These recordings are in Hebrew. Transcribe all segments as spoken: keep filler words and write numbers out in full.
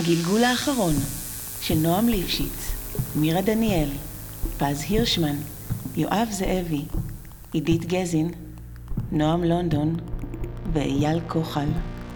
הגלגול האחרון של נועם ליפשיץ, מירה דניאל, פז הירשמן, יואב זאבי, עידית גזין, נועם לונדון ואייל כוחל.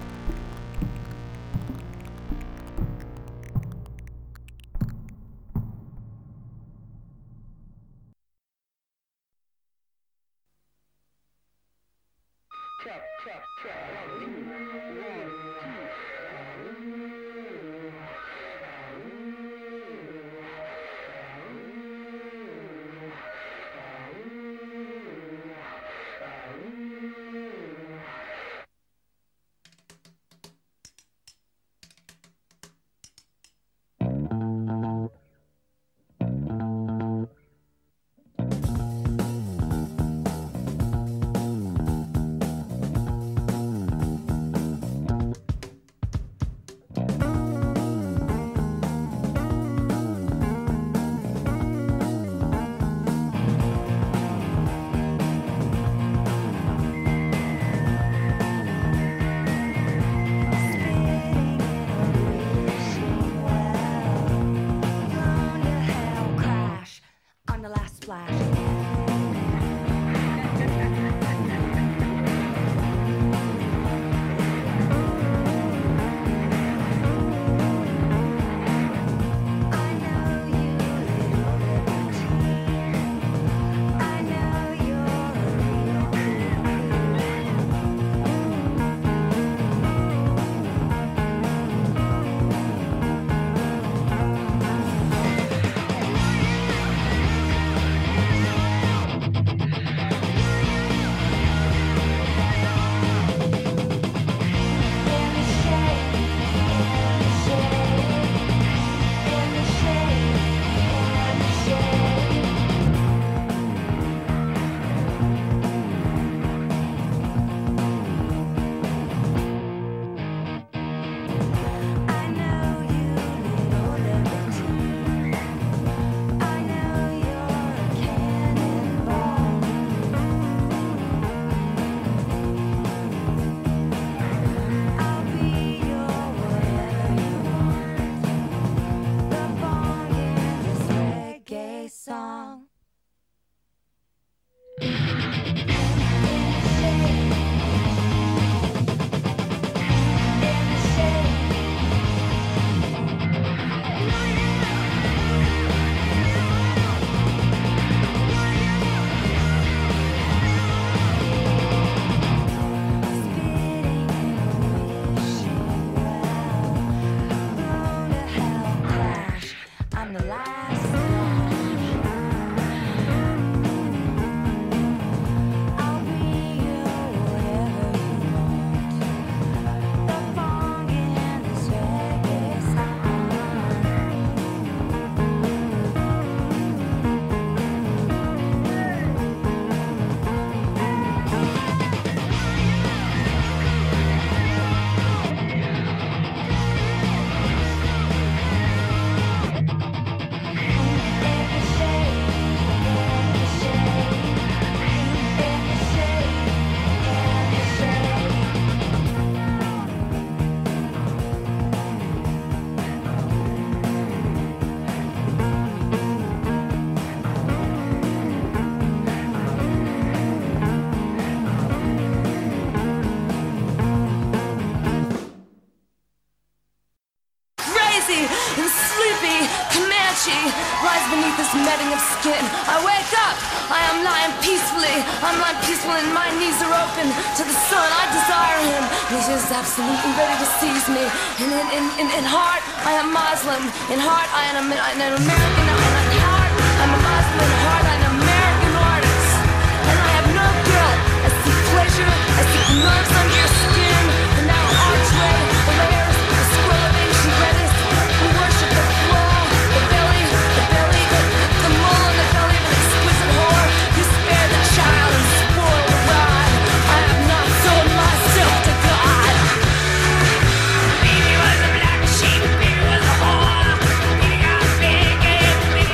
Netting of skin. I wake up, I am lying peacefully. I'm lying peacefully and my knees are open to the sun. I desire him. He's just absolutely ready to seize me. And in, in, in, in heart, I am Muslim. In heart, I am an American. In heart, I'm a Muslim. In heart, I'm an American artist. And I have no guilt. I seek pleasure. I seek nerves under your skin. And now archway, the layers, the scroll of ancient redness. We worship the floor, the belly, the belly, the The mole in the belly of an exquisite whore. You spare the child and spoil the rod. I have not sold myself to God. Baby was a black sheep, baby was a whore. Baby got big, baby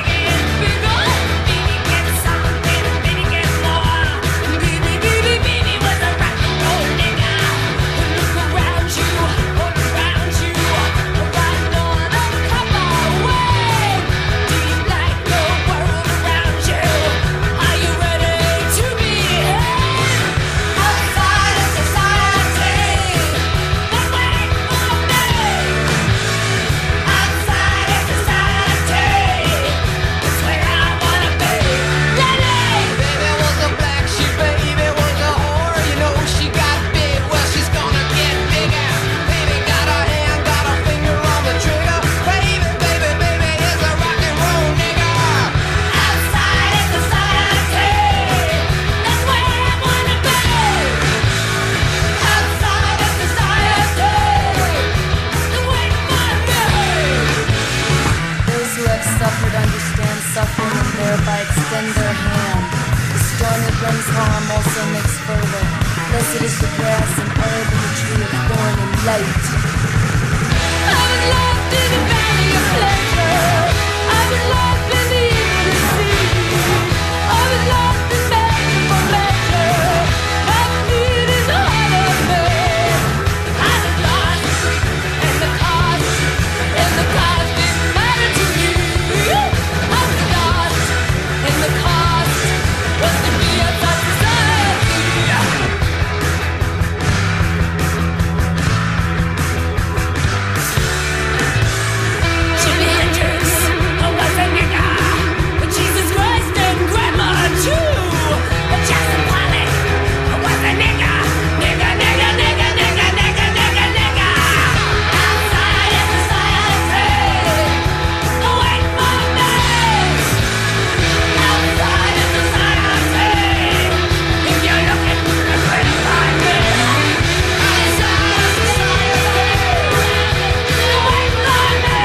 his harm also makes further. Blessed is the grass and herb and the tree of thorn and light. I was lost in the valley of pleasure. I was lost in the inner sea. I was lost in measure for measure. My need is all of me. I was lost in the cost, and the cost didn't matter to me. I was lost in the cost, was the needs of society. Jimi Hendrix, I was a nigga, but Jesus Christ and Grandma too. But Jackson Pollock, I was a nigga, nigga, nigga, nigga, nigga, nigga, nigga, nigga. Outside in society, wait for me. Outside in society, if you're looking, you're going to find me. Outside in society, wait for me.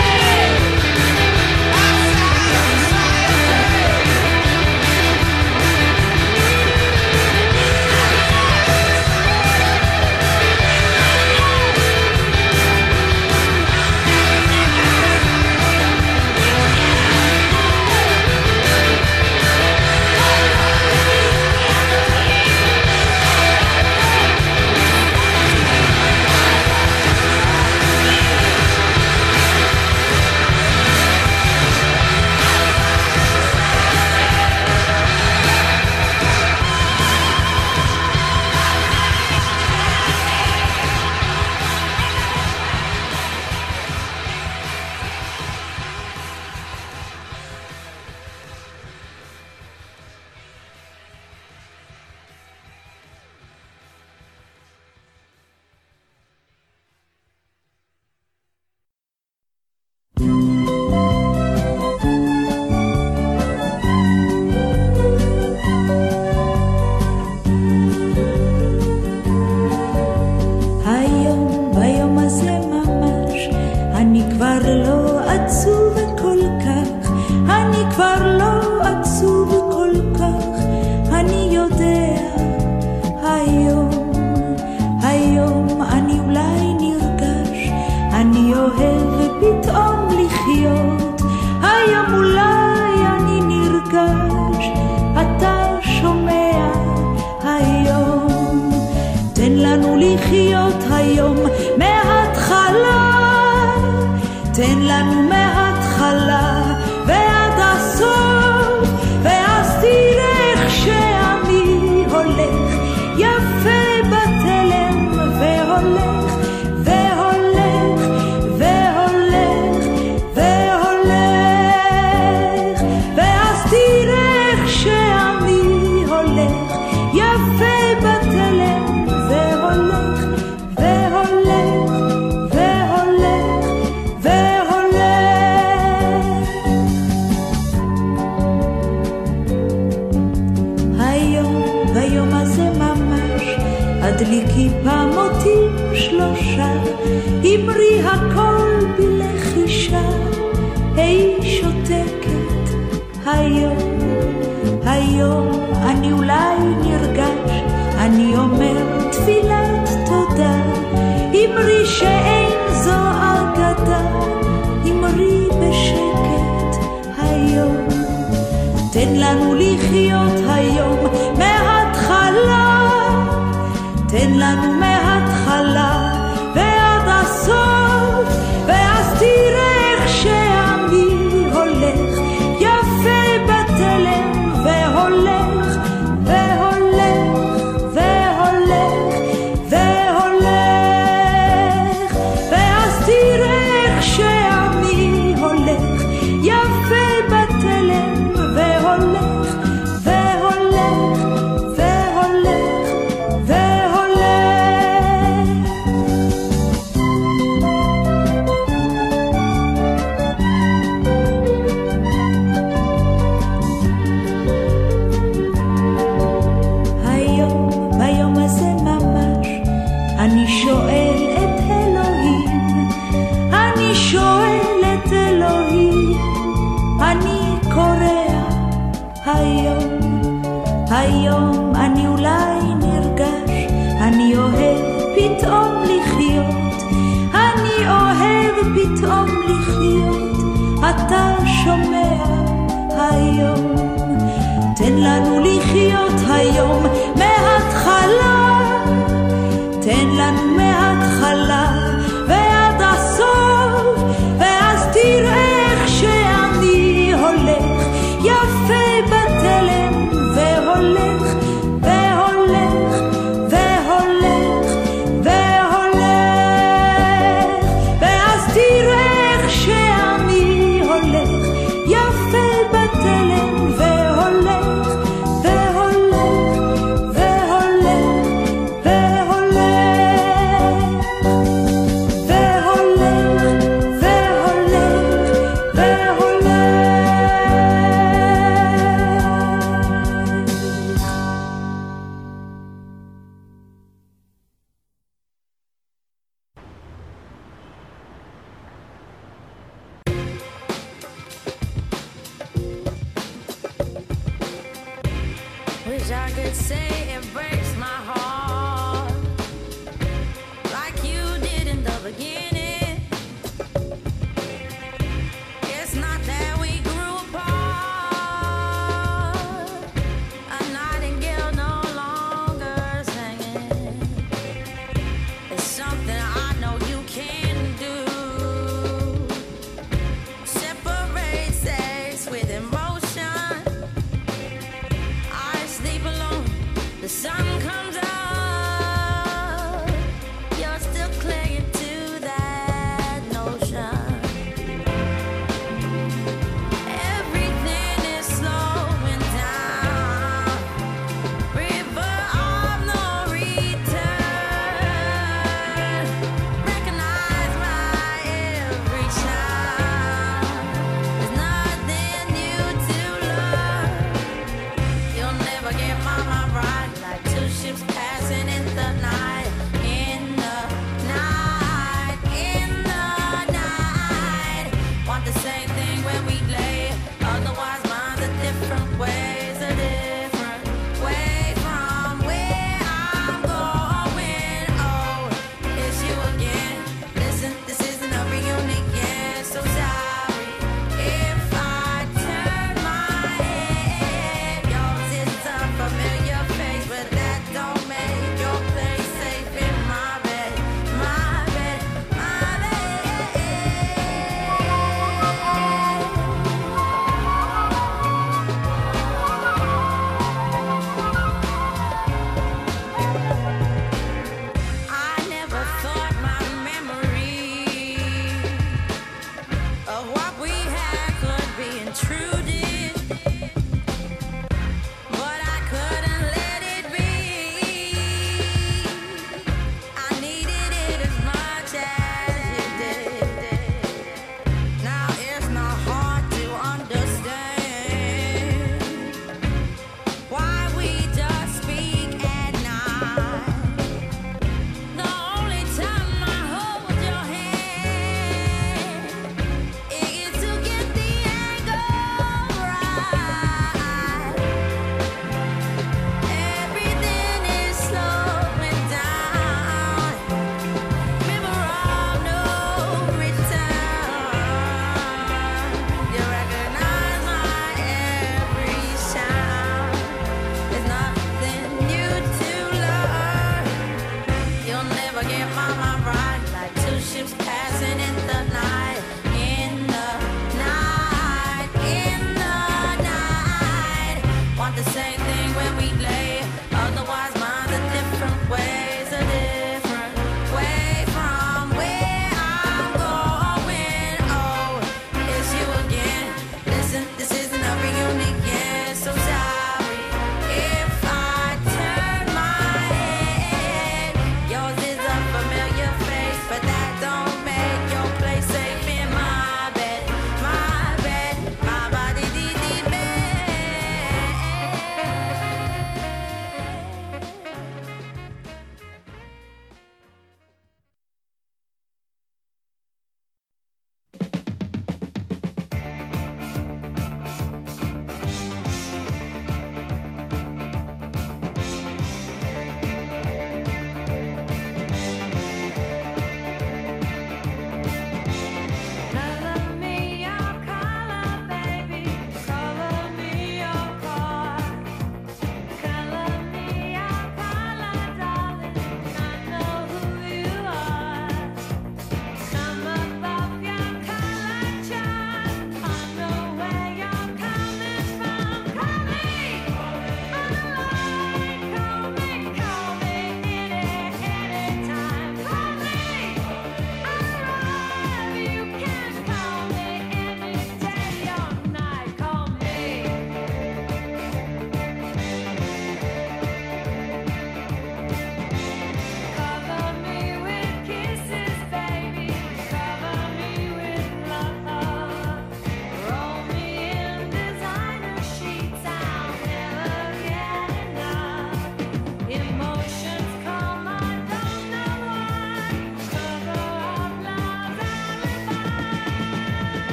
היום, ביום הזה ממש, אני כבר לא עצוב כל כך, אני כבר לא עצוב כל כך, אני יודע, היום, היום אני אולי נרגש, אני אוהב פתאום לחיות, היום אולי אני נרגש, אתה שומע, היום, תן לנו לחיות היום מההתחלה, תן לנו מההתחלה ועד הסוף, ואז תראה איך שאני הולך יפה בתלם, והולך והולך והולך והולך, ואז תראה איך שאני הולך יפה בתלם, והולך והולך והולך והולך. היום, ביום הזה ממש, הדליקי פעמותים שלושה, אמרי הכל בלחישה, היי שותקת, היום, היום אני אולי נרגש, אני אומר תפילת תודה, אמרי שאין זו אגדה, אמרי בשקט היום, תן לנו לחיות היום מההתחלה, תן לנו מההתחלה ועד הסוף, ואז תראה איך שאני הולך יפה בתלם, והולך והולך והולך והולך, ואז תראה איך שאני הולך יפה בתלם, והולך והולך והולך והולך. I could say it breaks my heart, like you did in the beginning. It's not that we grew apart. A nightingale no longer singing. It's something I know you can't do. Separate sex with emotion. I sleep alone. The sun comes up. You're still clinging to that notion. Everything is slowing down. River of no return. Recognize my every sound. There's nothing new to learn. You'll never get my mind right like two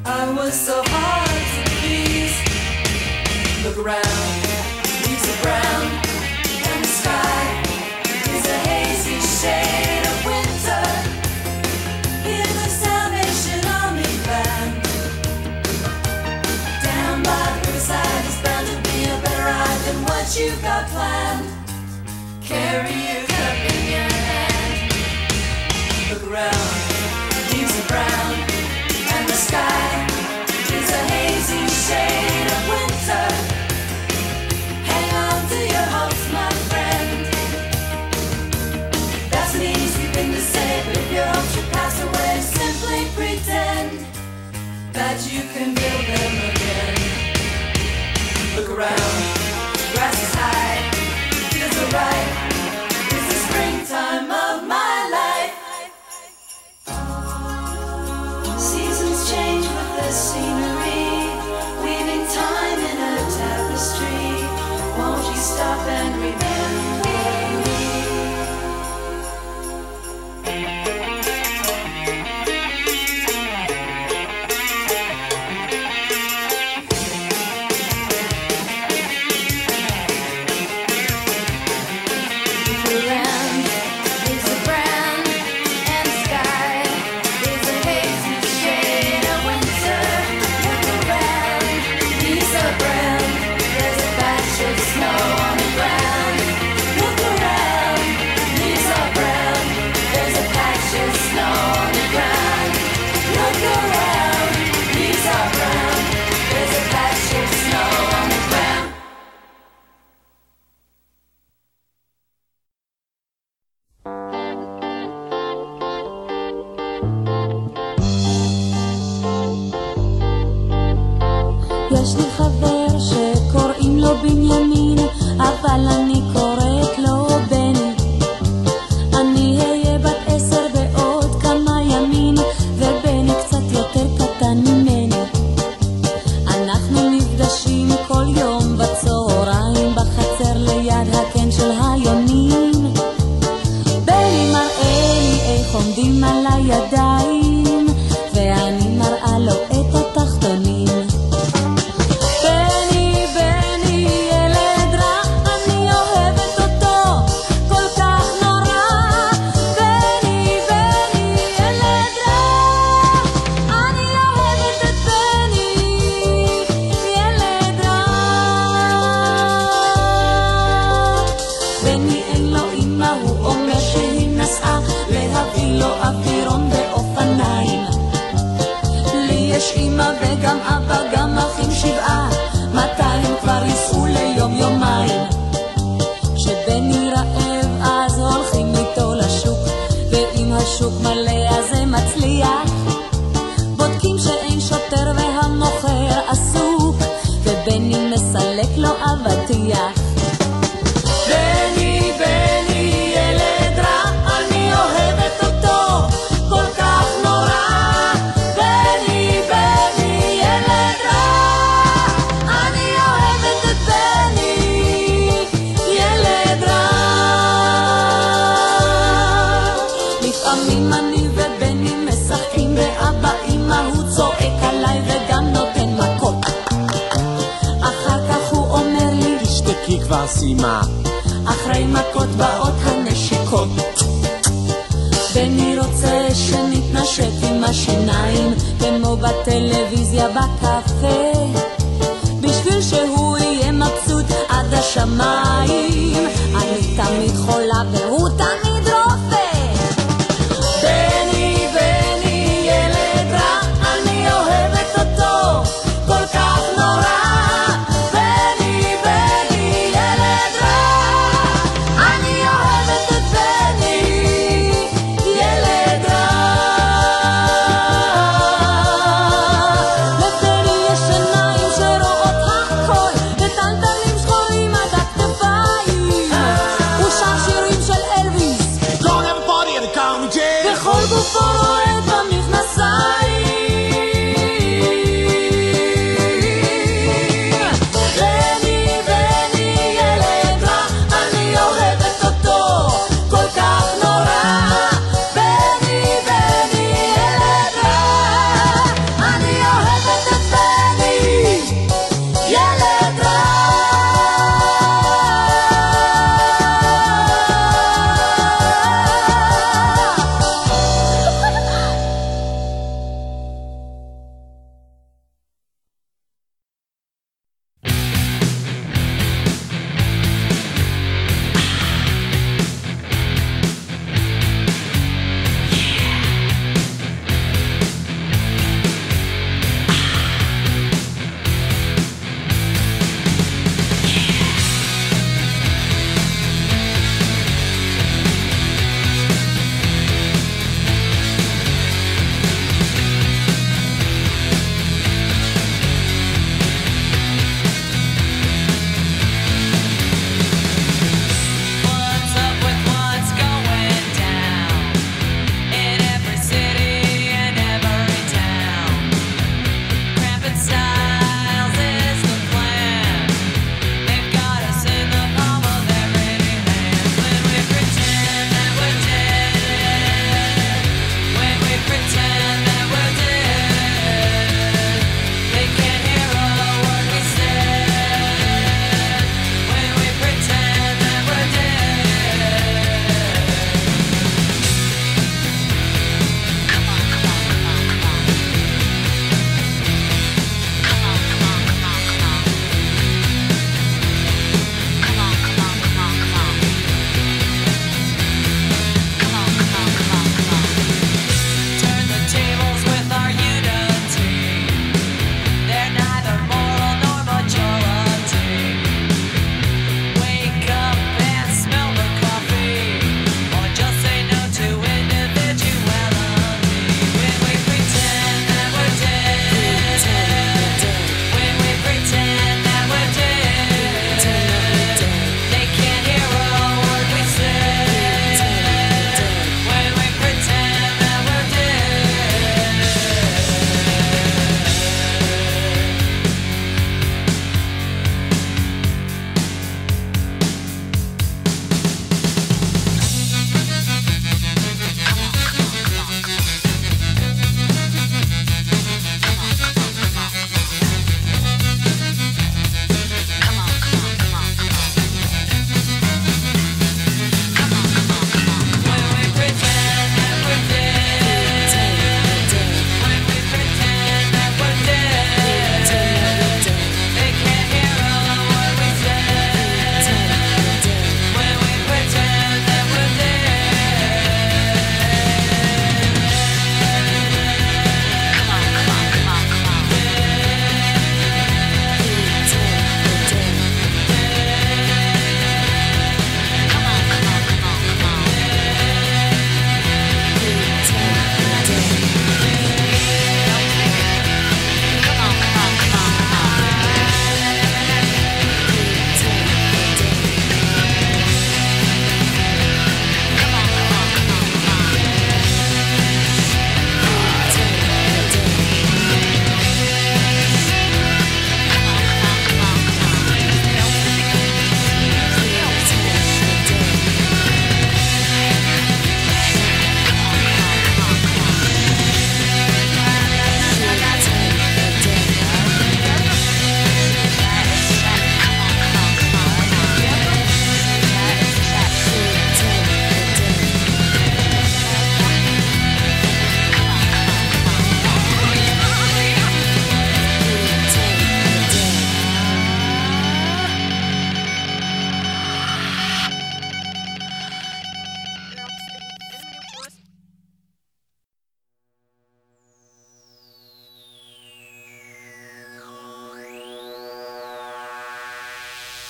I was so hard to please. Look around, leaves are brown, and the sky is a hazy shade of winter. Hear the Salvation Army band. Down by the riverside is bound to be a better ride than what you got planned. Carry your cup in your hand. Look around, leaves are brown, and the sky is a hazy shade of winter. Hang on to your hopes, my friend. That's an easy thing to say, but if your hopes should pass away, simply pretend that you can build them again. Look around, grass is high, feels alright. It's the springtime of my life. Seasons change with the scenery, weaving time in a tapestry. Won't you stop and remember me? Around is a brown, and the sky is a hazy shade of winter. Look around, leaves are brown, there's a patch of snow on the ground. Look around, leaves are brown, there's a patch of snow on the ground. Look around, leaves are brown, there's a patch of snow on the ground. יש לי חבר שקוראים לו בנימין, אבל אני קוראת לו בני. אני אהיה בת עשר בעוד כמה ימים, ובני קצת יותר קטן ממני. אנחנו נפגשים כל יום בצהריים בחצר ליד הקן של היונים. בני מראה לי איך עומדים על הידיים, ואני מראה לו את התחתונים. בני, בני, ילד רע, אני אוהבת אותו כל כך נורא. בני, בני, ילד רע, אני אוהבת את בני, ילד רע. בני אין לו אמא, הוא אומר שהיא נסעה להביא לו אווירון באופניים. לי יש אמא וגם אבא, גם אחים שבעה, מתי הם כבר ייסעו ליום יומיים. כשבני רעב אז הולכים איתו לשוק, ואם השוק מלא אז זה מצליח. בודקים שאין שוטר והמוכר עסוק, ובני מסלק לו אבטיח. בני, בני, ילד רע, אני אוהבת אותו כל כך נורא. בני, בני, ילד רע, אני אוהבת את בני, ילד רע. לפעמים אני ובני משחקים, ואבא אמא הוא צועק עליי וגם נותן מכות. אחר כך הוא אומר לי, תשתקי כבר סיימה. אחרי מכות באות הנשיקות. בני רוצה שנתנשק עם השיניים, כמו בטלוויזיה בקפה, בשביל שהוא יהיה מבסוט עד השמיים. אני תמיד חולה והוא תמיד רופא. בני, בני, ילד רע, אני אוהבת אותו כל כך נורא. בני, בני, ילד רע, אני אוהבת את בני, ילד רע. לבני יש עיניים שרואות הכל, וטלטלים שחורים עד הכתפיים. הוא שר שירים של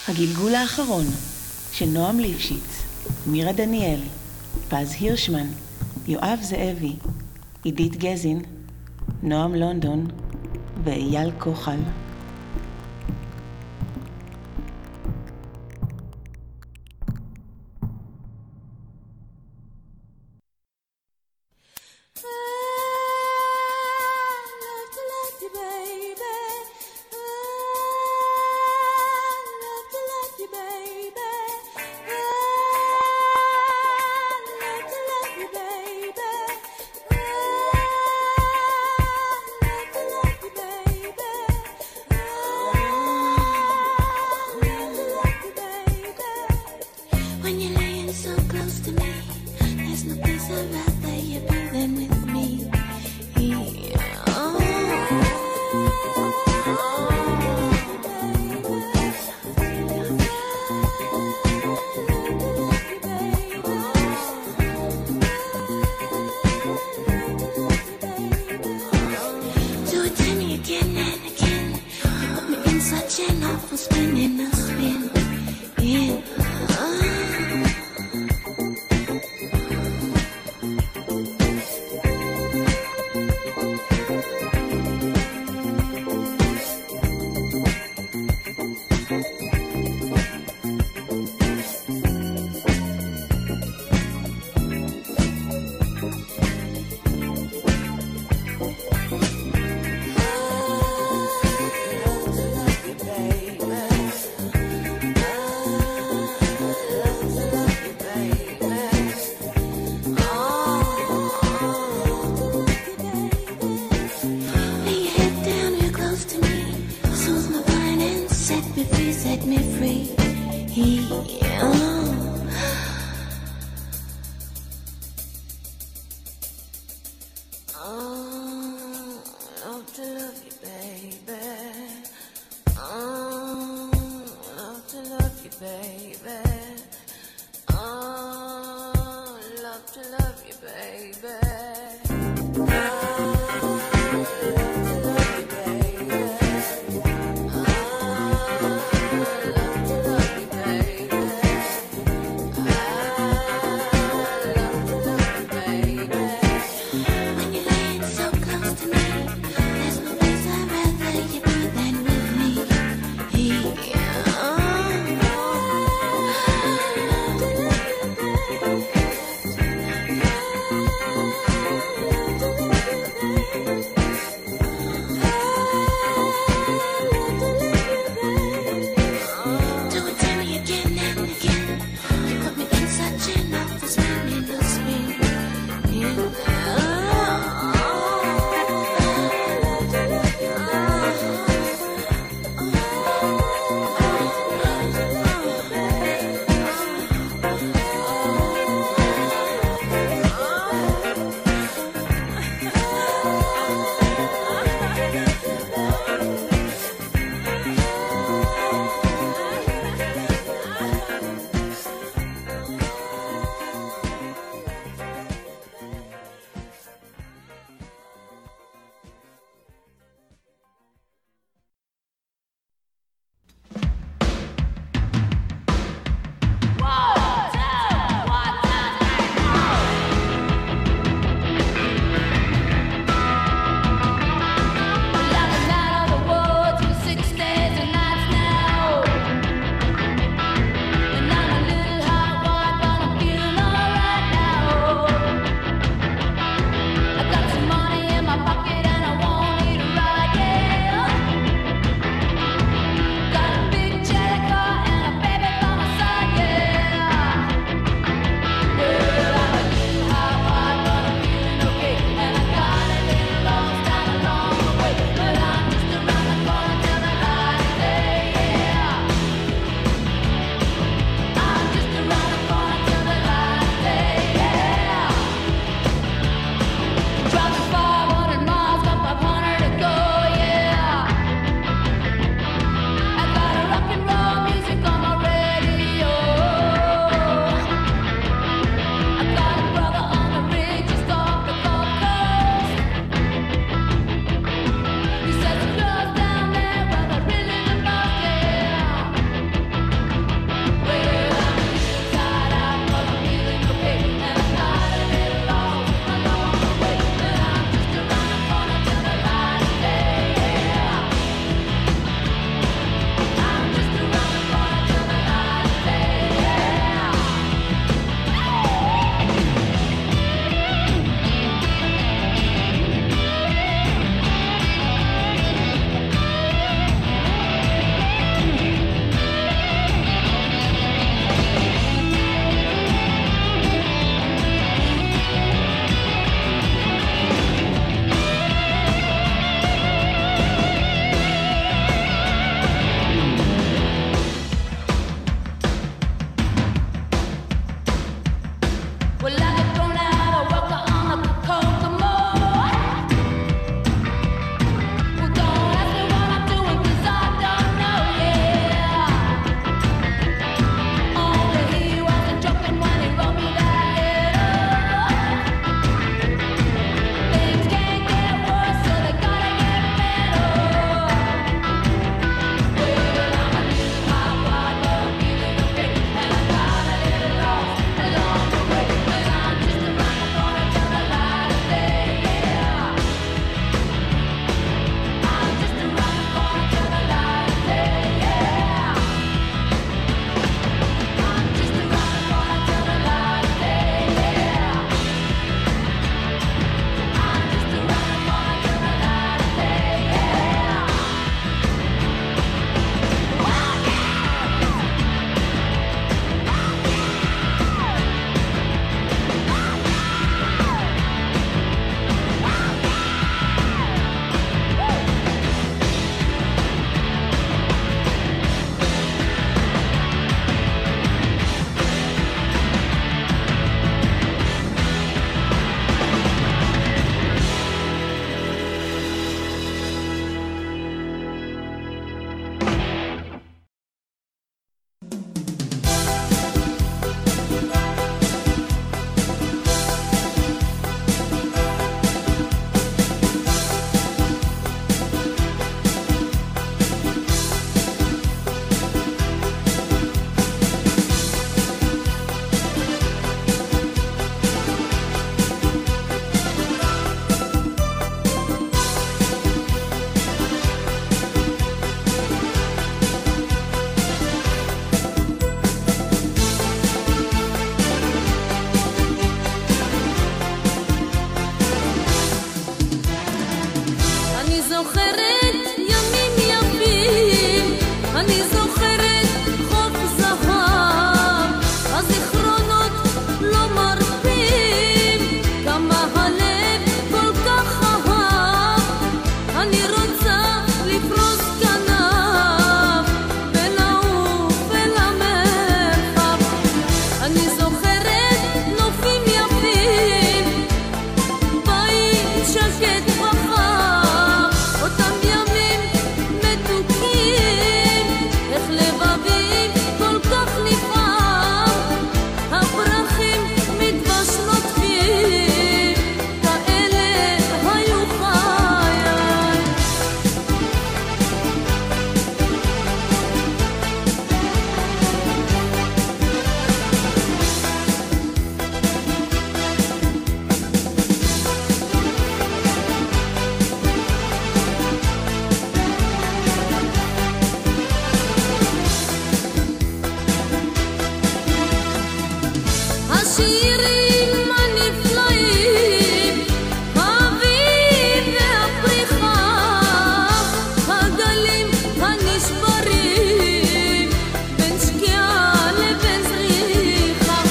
הגלגול האחרון של נועם ליפשיץ, מירה דניאל, פז הירשמן, יואב זאבי, עידית גזין, נועם לונדון ואייל כוחל. Baby זוכרת ימים יפים, אני זוכרת חוף זהב, הזיכרונות לא מרפים, כמה הלב כל כך אהב, אני רוצה לפרוס כנף ולעוף אל המרחב. אני זוכרת נופים יפים, בית שקט וחם, אותם ימים מתוקים, איך לבבי כל כך נפעם, הפרחים מדבש נוטפים, כאלה היו חיי. השירים הנפלאים, האביב והפריחה, הגלים הנשברים, בין שקיעה לבין זריחה.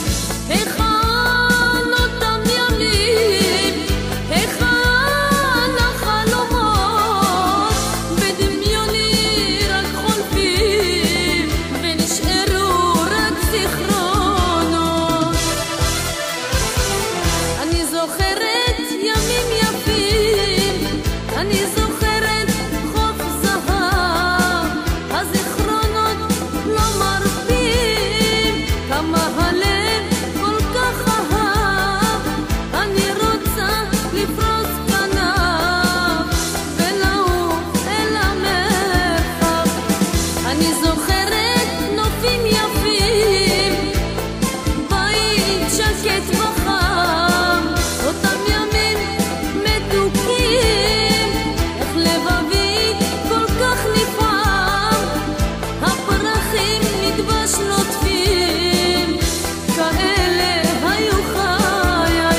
היכן אותם ימים, היכן החלומות, בדמיוני רק חולפים, ונשארו רק זיכרונות. אני זוכרת ימים יפים, אני זוכרת חוף זהב, הזיכרונות לא מרפים, כמה הלב כל כך אהב, אני רוצה לפרוס כנף ולעוף אל המרחב. אני זוכרת נופים יפים, בית שקט וחם, אותם ימים מתוקים, איך לבבי כל כך נפעם, הפרחים מדבש נוטפים, כאלה היו חיי.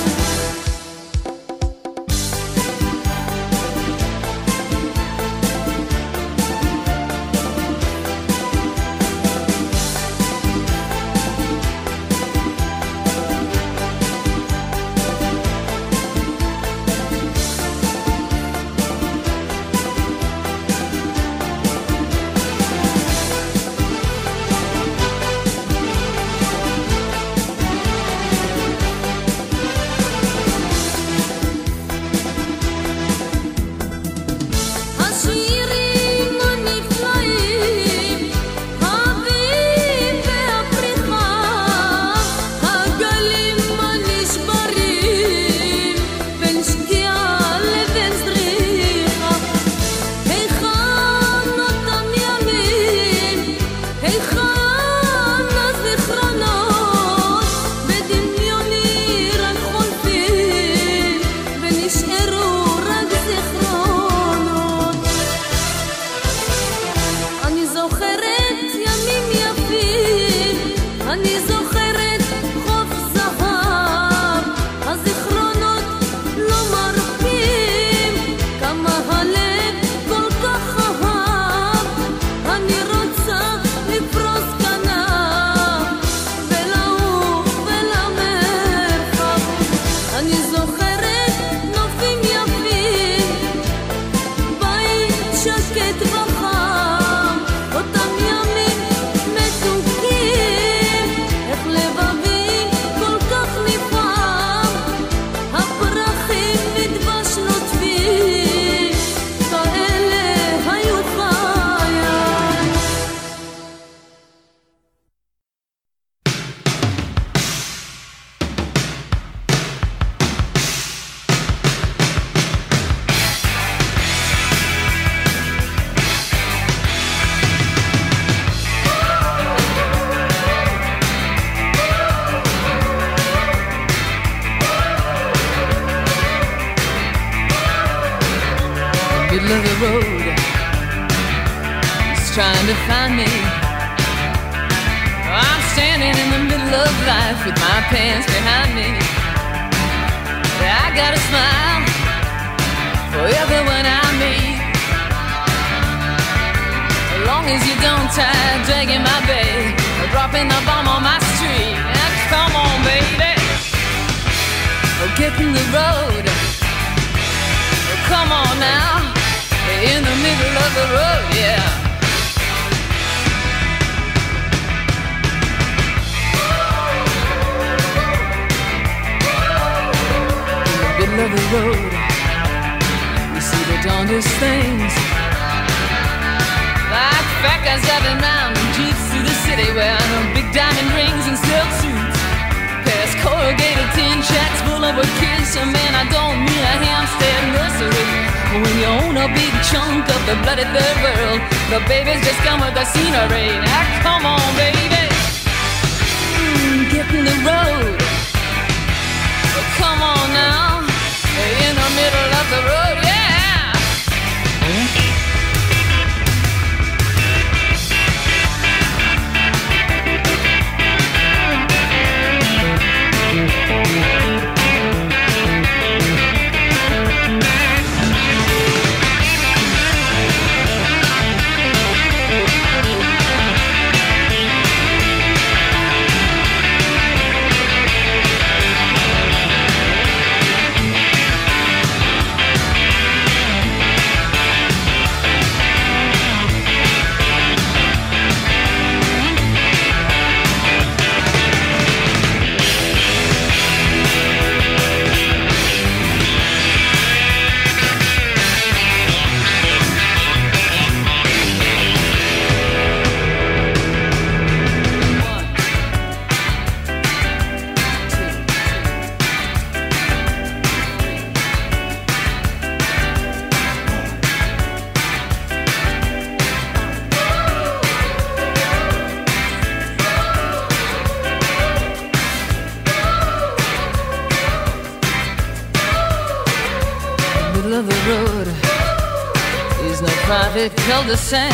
השירים הנפלאים, האביב והפריחה, הגלים הנשברים, בין שקיעה לבין זריחה. היכן אותם ימים, היכן הזיכרונות, בדמיוני רק חולפים, ונשארו רק זיכרונות. אני זוכרת ימים יפים, אני זוכרת חוף זהב, הזיכרונות לא מרפים, כמה הלב כל כך אהב, אני רוצה לפרוס כנף ולעוף אל המרחב. אני זוכרת נופים יפים, בית שקט וחם, אותם ימים מתוקים, איך לבבי כל כך נפעם, הפרחים מדבש נוטפים, כאלה היו חיי. Middle of the road, he's trying to find me. I'm standing in the middle of life with my pants behind me. I got a smile for everyone I as you don't try dragging my bag or dropping the bomb on my street. Now, come on, baby. Oh, get in the road. Oh, come on now. In the middle of the road, yeah. In the middle of the road, you see the darndest things. Like fat guys driving round in jeeps through the city, wearing big diamond rings and silk suits. Past corrugated tin shacks full of kids. So man, I don't mean a Hampstead nursery. When you own a big chunk of the bloody third world, the babies just come with the scenery. Now come on, baby, mm, get in the road. Oh, come on now, in the middle of the road, yeah. Cul-de-sac.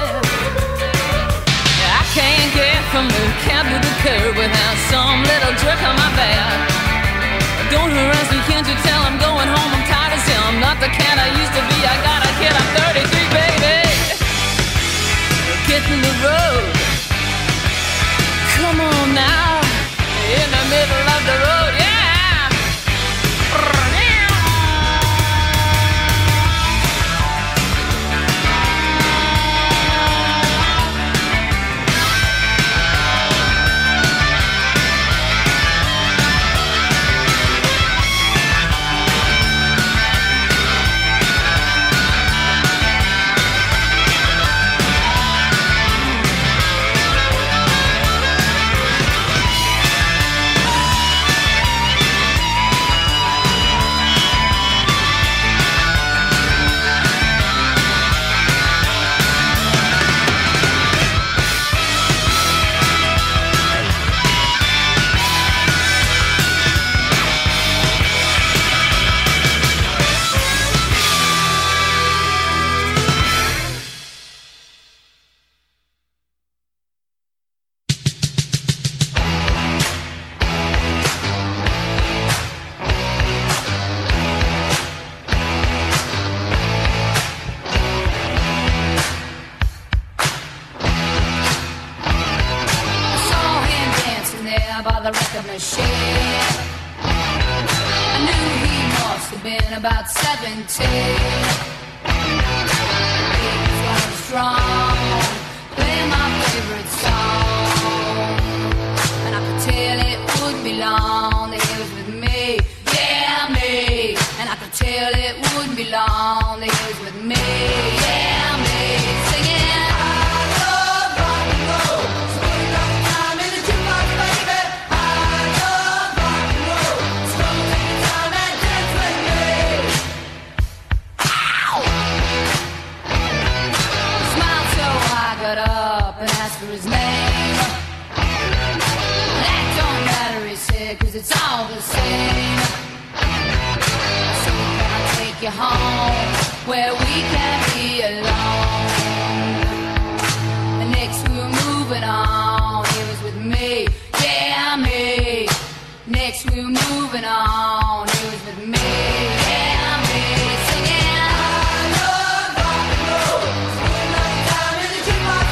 I can't get from the cab to the curb without some little jerk on my back. Don't harass me, can't you tell I'm going home? I'm tired as hell. I'm not the cat I used to be. I got a kid, I'm thirty-three, baby. Get in the road. Come on now, in the middle of the road, yeah. About seventeen, he was strong, playing my favorite song, and I could tell it wouldn't be long that he was with me, yeah me, and I could tell it wouldn't be long that he was with me, yeah me, singing I love rock and roll, spending all the time in the jukebox, baby. I love rock and roll, so take your time and dance with me. Got up and asked for his name. That don't matter, he said, cause it's all the same. So can I take you home where we can be alone? And next we were moving on, he was with me, yeah me. Next we were moving on, he was with me, yeah me. Singing I love rock and roll, spending all the time in the jukebox.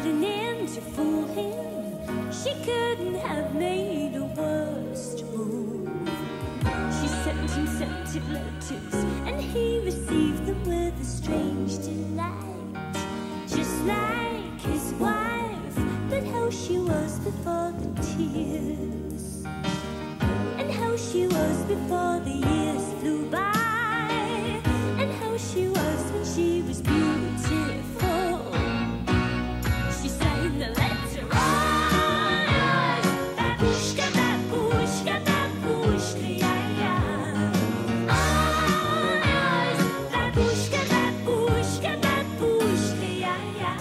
an end to fool him. She couldn't have made a worse move. She sent him scented letters, and he received them with a strange delight. Just like his wife, but how she was before the tears, and how she was before the years flew by, and how she was when she was beautiful. She signed the letter, oh yes, babushka, babushka, babushka, yeah, yeah. Oh yes, babushka, babushka, babushka, yeah, yeah.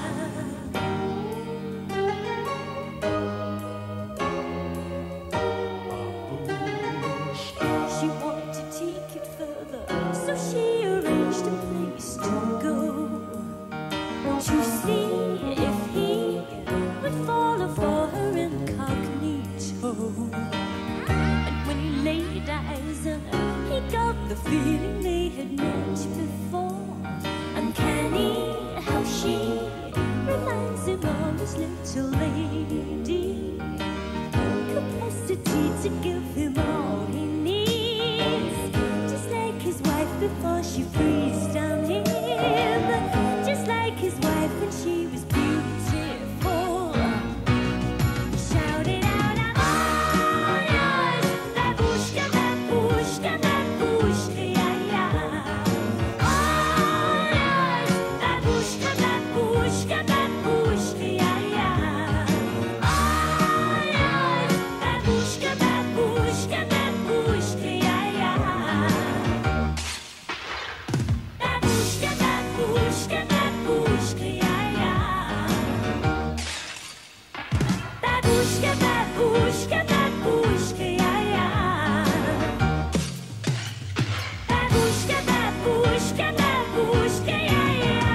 She wanted to take it further, so she arranged a place to go, to see if he would follow for her incognito. And when he laid eyes on her, he got the feeling they had met before. Uncanny how she reminds him of his little lady, capacity to give him all he needs, just like his wife before she breathed on him, just like his wife when she was beautiful. Shout it out, I'm all yours, babushka, babushka, babushka, yeah, yeah. All yours, babushka, babushka, babushka, yeah, yeah. All yours, babushka, babushka, babushka, yeah, yeah. Babushka, babushka, babushka, yeah, yeah. Babushka, babushka, babushka, yeah, yeah. Babushka, babushka, babushka, yeah,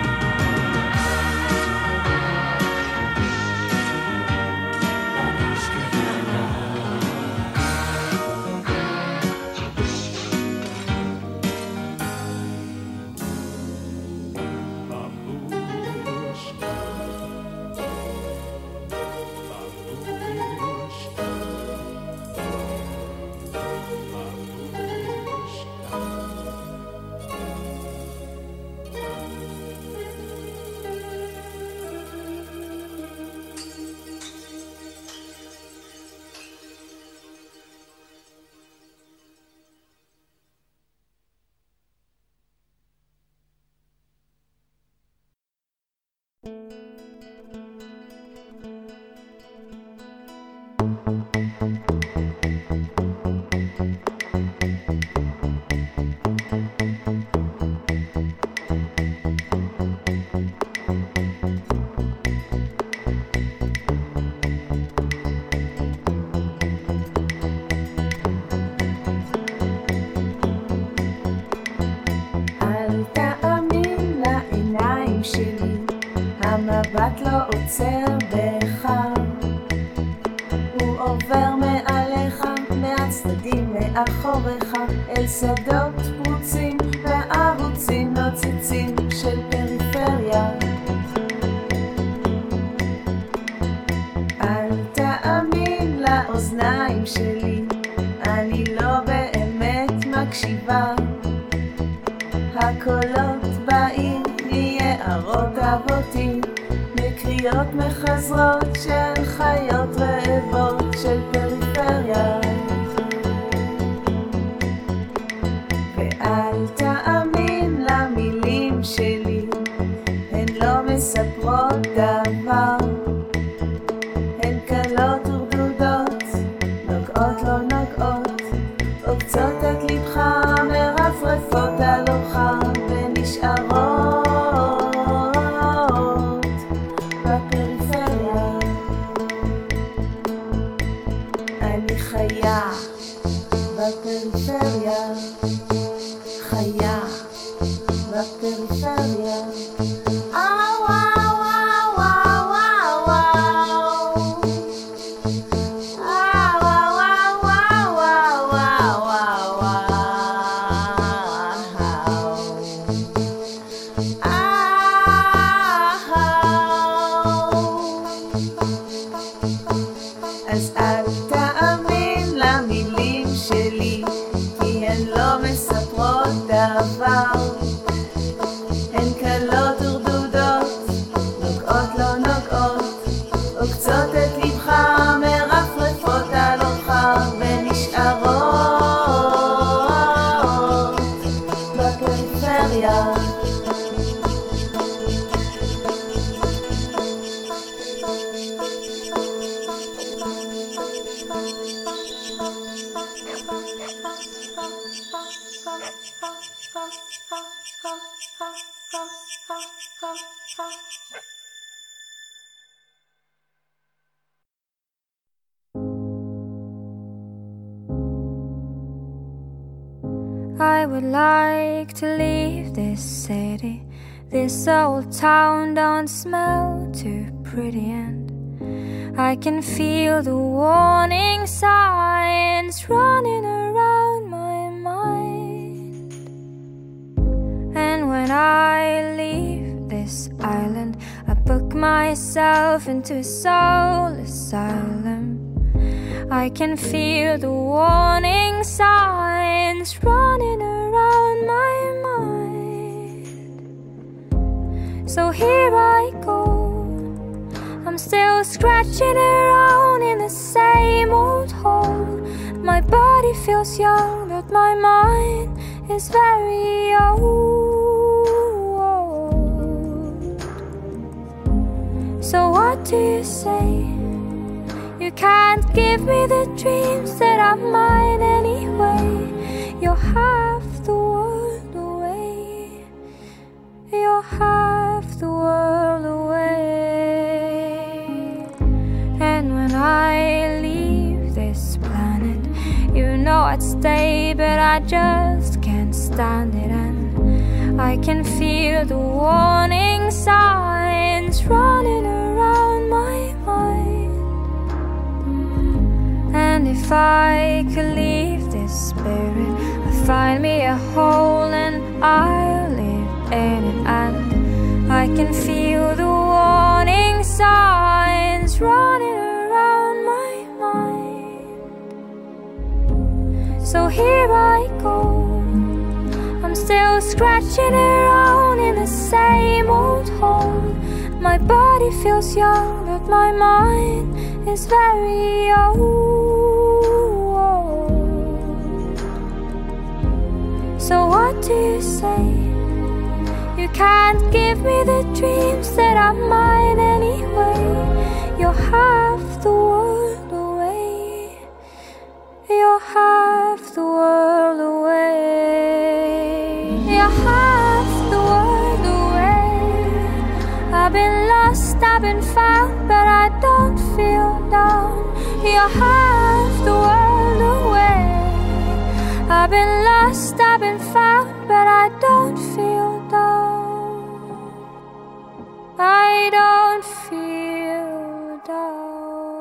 אל תאמין לעיניים שלי, המבט לא עוצר בך, הוא עובר מעליך, מהצדדים מאחוריך, אל שדות פרוצים וערוצים נוצצים של פריפריה. אל תאמין לאוזניים שלי, אני לא באמת מקשיבה, הקולות באים מיערות אבותים, מקריאות מחזרות של חיות רעבות של פריפריה. ואל תאמין למילים שלי, הן לא מספרות דבר, הן קלות ורדודות, נוגעות לא נוגעות, עוקצות את לבך, מרפרפות עלוך ונשארות בפריפריה. אז אל תאמין למילים שלי, כי הן לא מספרות דבר. הן קלות ורדודות, נוגעות לא נוגעות, עוקצות את לבך, מרפרפות על אורך ונשארות בפריפריה. I would like to leave this city. This old town don't smell too pretty, and I can feel the warning signs running around my mind. And when I leave this island, I book myself into a soul asylum. I can feel the warning signs running around my mind. So here I go, I'm still scratching around in the same old hole. My body feels young, but my mind is very old. So what do you say? You can't give me the dreams that are mine anyway. You're half the world away. You're half the world away. And when I leave this planet, you know I'd stay, but I just can't stand it. And I can feel the warning signs running around my mind. And if I could leave this spirit, I'd find me a hole and I'll live in it. And I can feel the warning signs running around my mind. So here I go, I'm still scratching around in the same old hole. My body feels young, but my mind is very old. So what do you say? You can't give me the dreams that are mine anyway. You're half the world away. You're half the world away. You're half the world away. I've been lost, I've been found, but I don't feel down. You're half the world away. I've been lost, I've been found, but I don't feel down. I don't feel down.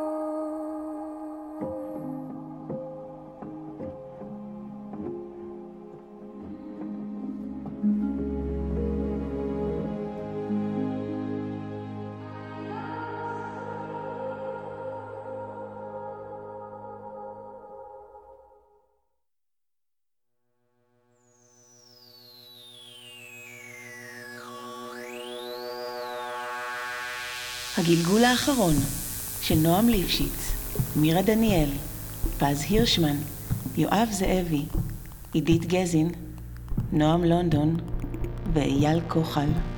הגלגול האחרון של נועם ליפשיץ, מירה דניאל, פז הירשמן, יואב זאבי, עידית גזין, נועם לונדון ואייל כוחל.